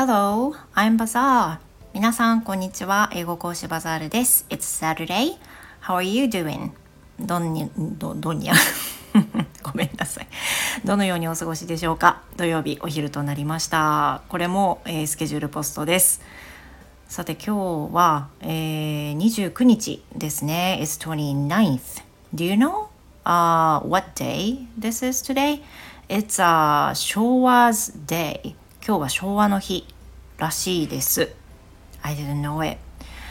Hello, I'm Bazaar. 皆さん、こんにちは。英語講師バザールです。It's Saturday. How are you doing? どんにゃごめんなさい。どのようにお過ごしでしょうか。土曜日お昼となりました。これも、スケジュールポストです。さて今日は、29日ですね。It's 29th. Do you know、what day this is today? It's、昭和 day. 今日は昭和の日らしいです。I didn't know it.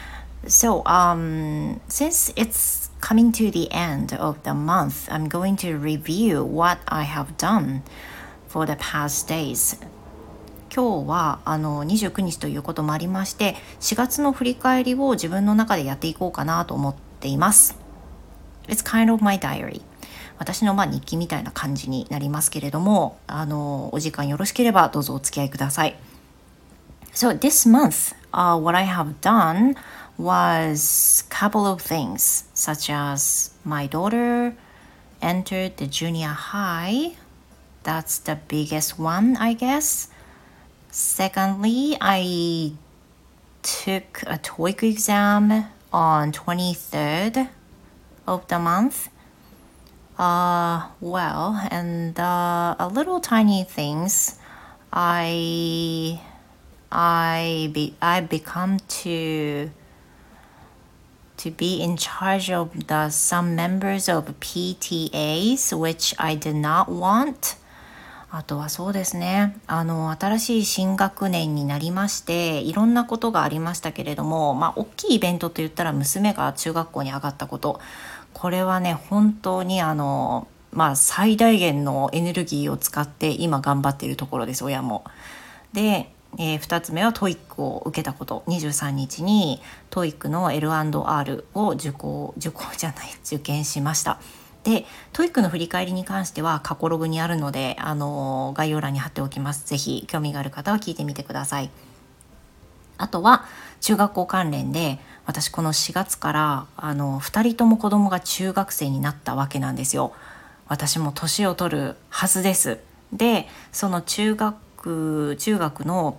So, since it's coming to the end of the month, I'm going to review what I have done for the past days. 今日は29日ということもありまして4月の振り返りを自分の中でやっていこうかなと思っています。 It's kind of my diary. 私の日記みたいな感じになりますけれどもお時間よろしければどうぞお付き合いください。 So this month、what I have done was a couple of things such as my daughter entered the junior high. That's the biggest one, I guess.Secondly, I took a TOEIC exam on 23rd of the month. And a little tiny things. I become to be in charge of some members of PTAs, which I did not want.あとはそうですね新しい新学年になりましていろんなことがありましたけれども大きいイベントといったら娘が中学校に上がったこと、これはね本当に最大限のエネルギーを使って今頑張っているところです。親もで、2つ目は TOEIC を受けたこと、23日に TOEIC の L&R を受験しました。で、TOEIC の振り返りに関しては過去ログにあるので、概要欄に貼っておきます。ぜひ興味がある方は聞いてみてください。あとは中学校関連で、私この4月から2人とも子供が中学生になったわけなんですよ。私も年を取るはずです。で、その中学の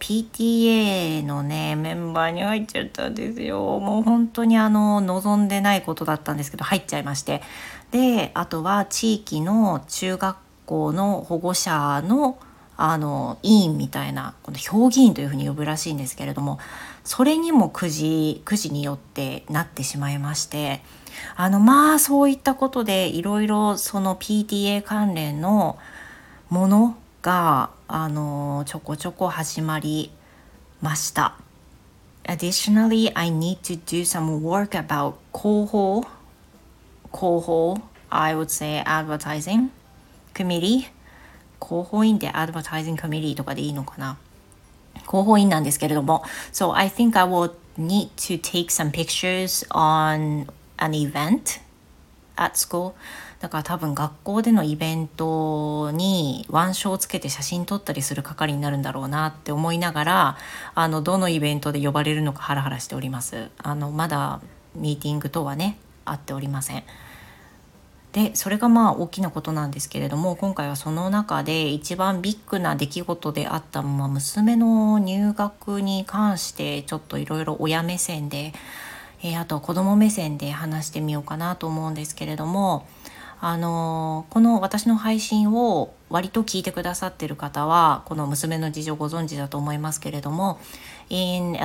PTA のねメンバーに入っちゃったんですよ。もう本当に望んでないことだったんですけど入っちゃいまして、であとは地域の中学校の保護者の委員みたいな、この評議員というふうに呼ぶらしいんですけれども、それにもくじによってなってしまいまして、そういったことでいろいろその PTA 関連のものがちょこちょこ始まりました。 Additionally, I need to do some work about 広報 I would say advertising committee。 広報員で advertising committee とかでいいのかな。広報員なんですけれども、 So I think I will need to take some pictures on an event at school。だから多分学校でのイベントに腕章をつけて写真撮ったりする係になるんだろうなって思いながらどのイベントで呼ばれるのかハラハラしております。まだミーティング等はねあっておりません。でそれが大きなことなんですけれども、今回はその中で一番ビッグな出来事であった、娘の入学に関してちょっといろいろ親目線で、あと子供目線で話してみようかなと思うんですけれども、この私の配信を割と聞いてくださっている方はこの娘の事情ご存知だと思いますけれども、 In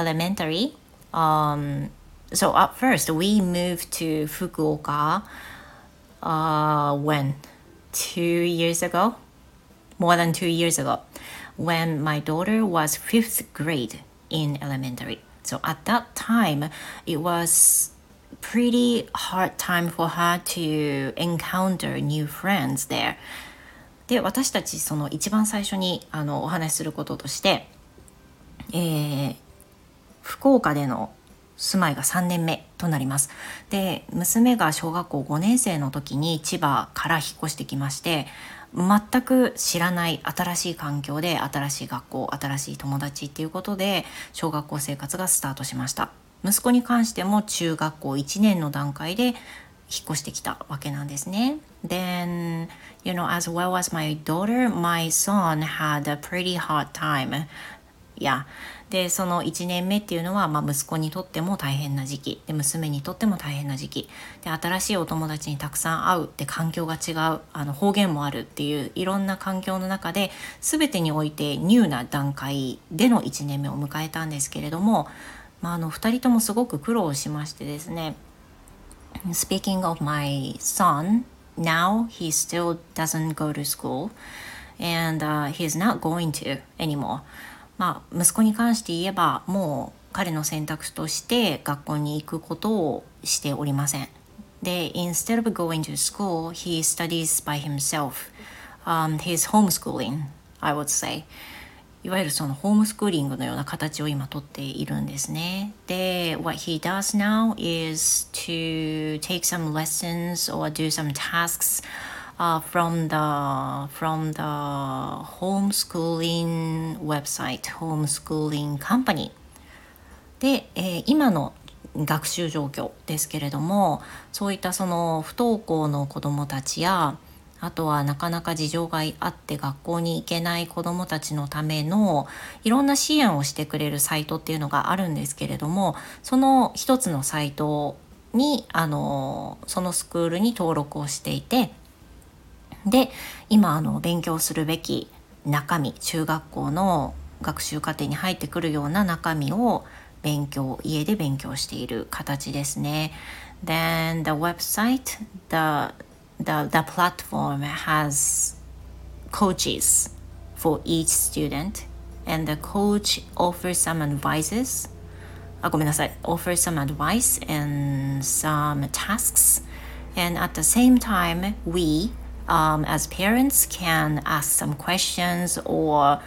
elementary、so at first we moved to Fukuoka、when 2 years ago, more than 2 years ago, when my daughter was 5th grade in elementary. So at that time it was pretty hard time for her to encounter new friends there. で、私たちその一番最初にお話しすることとして、福岡での住まいが3年目となります。で、娘が小学校5年生の時に千葉から引っ越してきまして、全く知らない新しい環境で新しい学校、新しい友達っていうことで小学校生活がスタートしました。息子に関しても中学校1年の段階で引っ越してきたわけなんですね。Then, as well as my daughter, my son had a pretty hard time Yeah. で、その1年目っていうのは、息子にとっても大変な時期で、娘にとっても大変な時期で、新しいお友達にたくさん会うで、環境が違う、方言もあるっていういろんな環境の中で、全てにおいてニューな段階での1年目を迎えたんですけれども、2人ともすごく苦労しましてですね。Speaking of my son, now he still doesn't go to school and he's not going to anymore. 息子に関して言えば、もう彼の選択肢として学校に行くことをしておりません。で、instead of going to school, he studies by himself. He's homeschooling, I would say. いわゆるそのホームスクーリングのような形を今とっているんですね。で、what he does now is to take some lessons or do some tasks from the homeschooling website, homeschooling company で、今の学習状況ですけれども、そういったその不登校の子どもたちや、あとはなかなか事情があって学校に行けない子どもたちのためのいろんな支援をしてくれるサイトっていうのがあるんですけれども、その一つのサイトにそのスクールに登録をしていて、で今勉強するべき中身、中学校の学習課程に入ってくるような中身を家で勉強している形ですね。Then the website, the platform has coaches for each student and the coach offers some advices. ごめんなさい。offers some advice and some tasks. And at the same time, we as parents can ask some questions or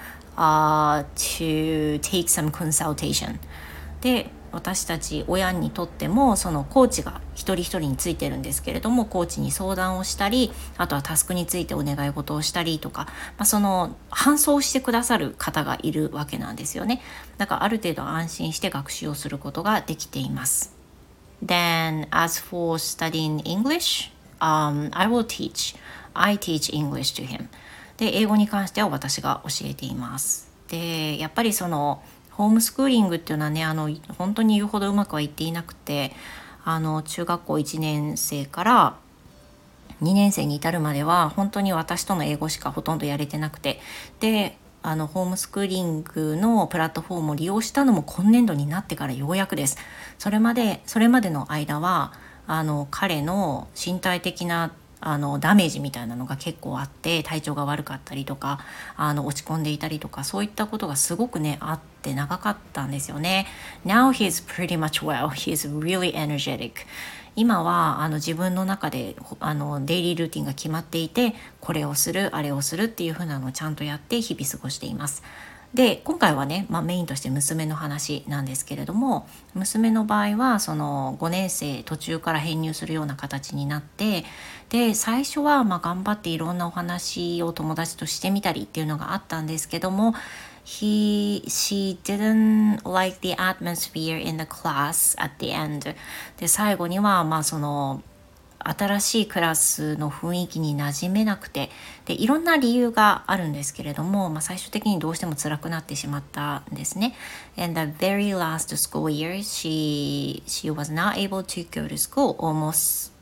to take some consultation. で、私たち親にとってもそのコーチが一人一人についてるんですけれども、コーチに相談をしたり、あとはタスクについてお願い事をしたりとか、その伴走してくださる方がいるわけなんですよね。だからある程度安心して学習をすることができています。Then as for studying English, I teach English to him. で、英語に関しては私が教えています。で、やっぱりそのホームスクーリングっていうのはね、本当に言うほどうまくはいっていなくて、中学校1年生から2年生に至るまでは本当に私との英語しかほとんどやれてなくて、でホームスクーリングのプラットフォームを利用したのも今年度になってからようやくです。それまでの間は彼の身体的なダメージみたいなのが結構あって、体調が悪かったりとか落ち込んでいたりとか、そういったことがすごくねあって長かったんですよね。 Now he's pretty much well. He's really energetic. 今は自分の中でデイリールーティンが決まっていて、これをするあれをするっていう風なのをちゃんとやって日々過ごしています。で、今回はね、メインとして娘の話なんですけれども、娘の場合はその5年生途中から編入するような形になって、で最初は頑張っていろんなお話を友達としてみたりっていうのがあったんですけども、she didn't like the atmosphere in the class at the end. で最後にはその新しいクラスの雰囲気に馴染めなくて、でいろんな理由があるんですけれども、最終的にどうしても辛くなってしまったんですね。And the very last school year, she was not able to go to school almost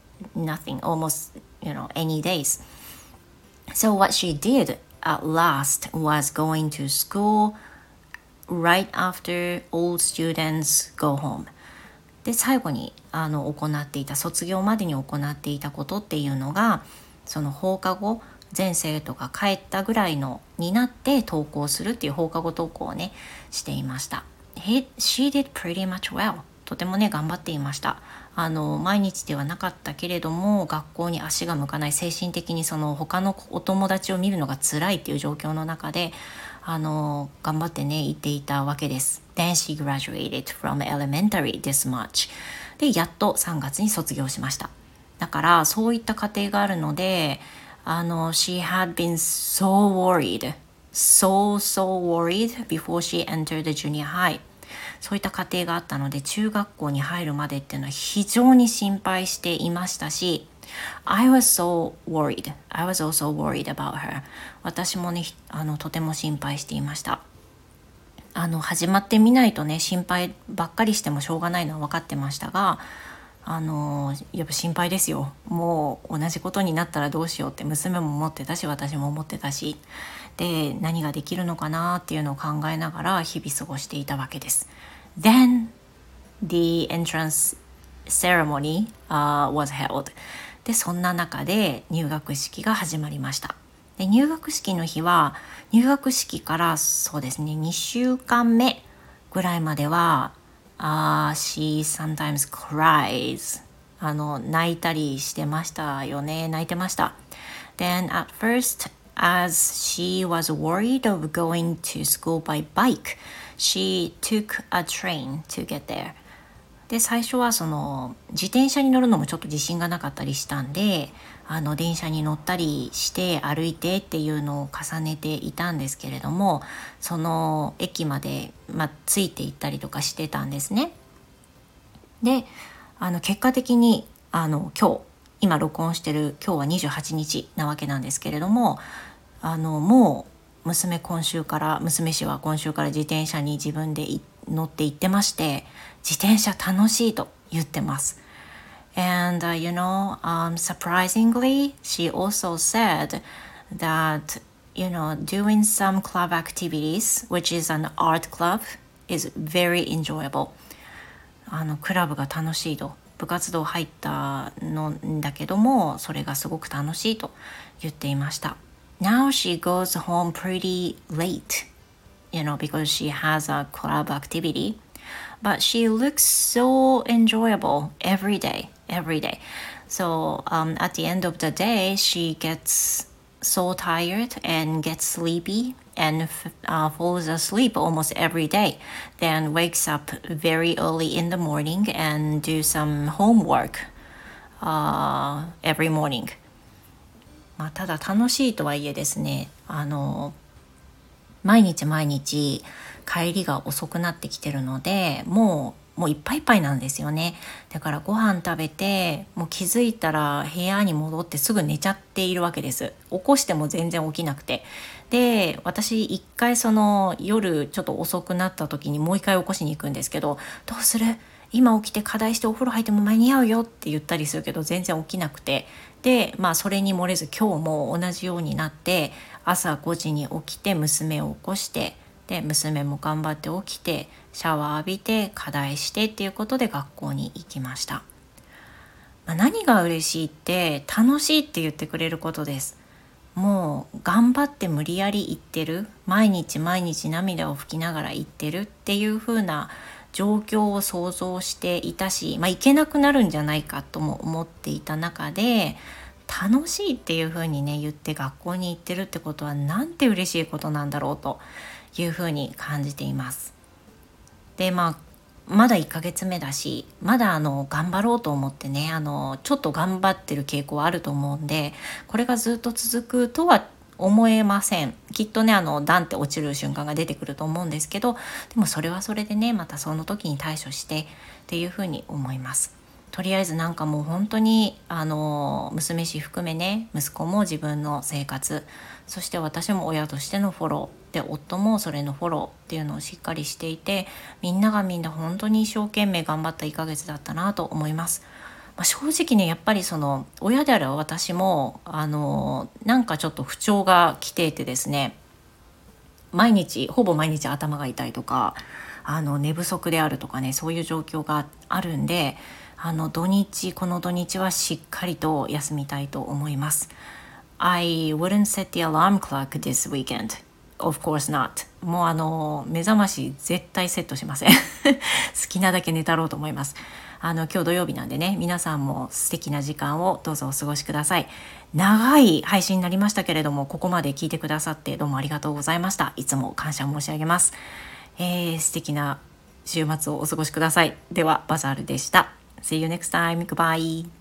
any days. So what she did at last was going to school right after all students go home. で最後に行っていた、卒業までに行っていたことっていうのが、その放課後全生徒が帰ったぐらいのになって登校するっていう放課後登校をねしていました。She did pretty much well. とてもね頑張っていました。毎日ではなかったけれども学校に足が向かない、精神的にその他のお友達を見るのが辛いっていう状況の中で頑張ってね行っていたわけです。Then she graduated from elementary this March. でやっと3月に卒業しました。だからそういった過程があるのでshe had been so worried before she entered the junior high. そういった過程があったので、中学校に入るまでっていうのは非常に心配していましたし、I was so worried. I was also worried about her. 私もねとても心配していました。 始まってみないとね、心配ばっかりしてもしょうがないのは分かってましたが、やっぱ心配ですよ。もう同じことになったらどうしようって娘も思ってたし、私も思ってたし、で何ができるのかなっていうのを考えながら日々過ごしていたわけです。Then the entrance ceremony, was held. でそんな中で入学式が始まりました。で入学式の日は、入学式からそうですね、2週間目ぐらいまでは、she sometimes cries. 泣いたりしてましたよね。泣いてました。Then at first, as she was worried of going to school by bike, she took a train to get there. で最初はその自転車に乗るのもちょっと自信がなかったりしたんで、電車に乗ったりして歩いてっていうのを重ねていたんですけれども、その駅まで、ついて行ったりとかしてたんですね。で結果的に今録音してる今日は28日なわけなんですけれども、もう娘氏は今週から自転車に自分で乗って行ってまして、自転車楽しいと言ってます。And surprisingly, she also said that doing some club activities, which is an art club, is very enjoyable. クラブが楽しいと、部活動入ったのだけどもそれがすごく楽しいと言っていました。Now she goes home pretty late, because she has a club activity, but she looks so enjoyable every day. So at the end of the day, she gets so tired and gets sleepy and falls asleep almost every day, then wakes up very early in the morning and do some homework every morning. ただ楽しいとはいえですね、毎日帰りが遅くなってきてるので、もういっぱいいっぱいなんですよね。だからご飯食べて、もう気づいたら部屋に戻ってすぐ寝ちゃっているわけです。起こしても全然起きなくて。で、私一回その夜ちょっと遅くなった時にもう一回起こしに行くんですけど、どうする？今起きて課題してお風呂入っても間に合うよって言ったりするけど全然起きなくて、でそれに漏れず今日も同じようになって、朝5時に起きて娘を起こして、で娘も頑張って起きてシャワー浴びて課題してっていうことで学校に行きました。何が嬉しいって楽しいって言ってくれることです。もう頑張って無理やり行ってる、毎日涙を拭きながら行ってるっていう風な状況を想像していたし、行けなくなるんじゃないかとも思っていた中で、楽しいっていう風にね言って学校に行ってるってことはなんて嬉しいことなんだろうという風に感じています。でまだ1ヶ月目だし、まだ頑張ろうと思ってね、ちょっと頑張ってる傾向はあると思うんで、これがずっと続くとは思えません。きっとねダンって落ちる瞬間が出てくると思うんですけど、でもそれはそれでね、またその時に対処してっていうふうに思います。とりあえずもう本当に娘氏含めね、息子も自分の生活、そして私も親としてのフォローで、夫もそれのフォローっていうのをしっかりしていて、みんな本当に一生懸命頑張った1ヶ月だったなと思います。正直ね、やっぱりその親である私もなんかちょっと不調が来ていてですね、ほぼ毎日頭が痛いとか寝不足であるとかね、そういう状況があるんで、この土日はしっかりと休みたいと思います。I wouldn't set the alarm clock this weekend. Of course not. もう目覚まし絶対セットしません好きなだけ寝たろうと思います。今日土曜日なんでね、皆さんも素敵な時間をどうぞお過ごしください。長い配信になりましたけれども、ここまで聞いてくださってどうもありがとうございました。いつも感謝申し上げます。素敵な週末をお過ごしください。ではバザールでした。See you next time. Goodbye.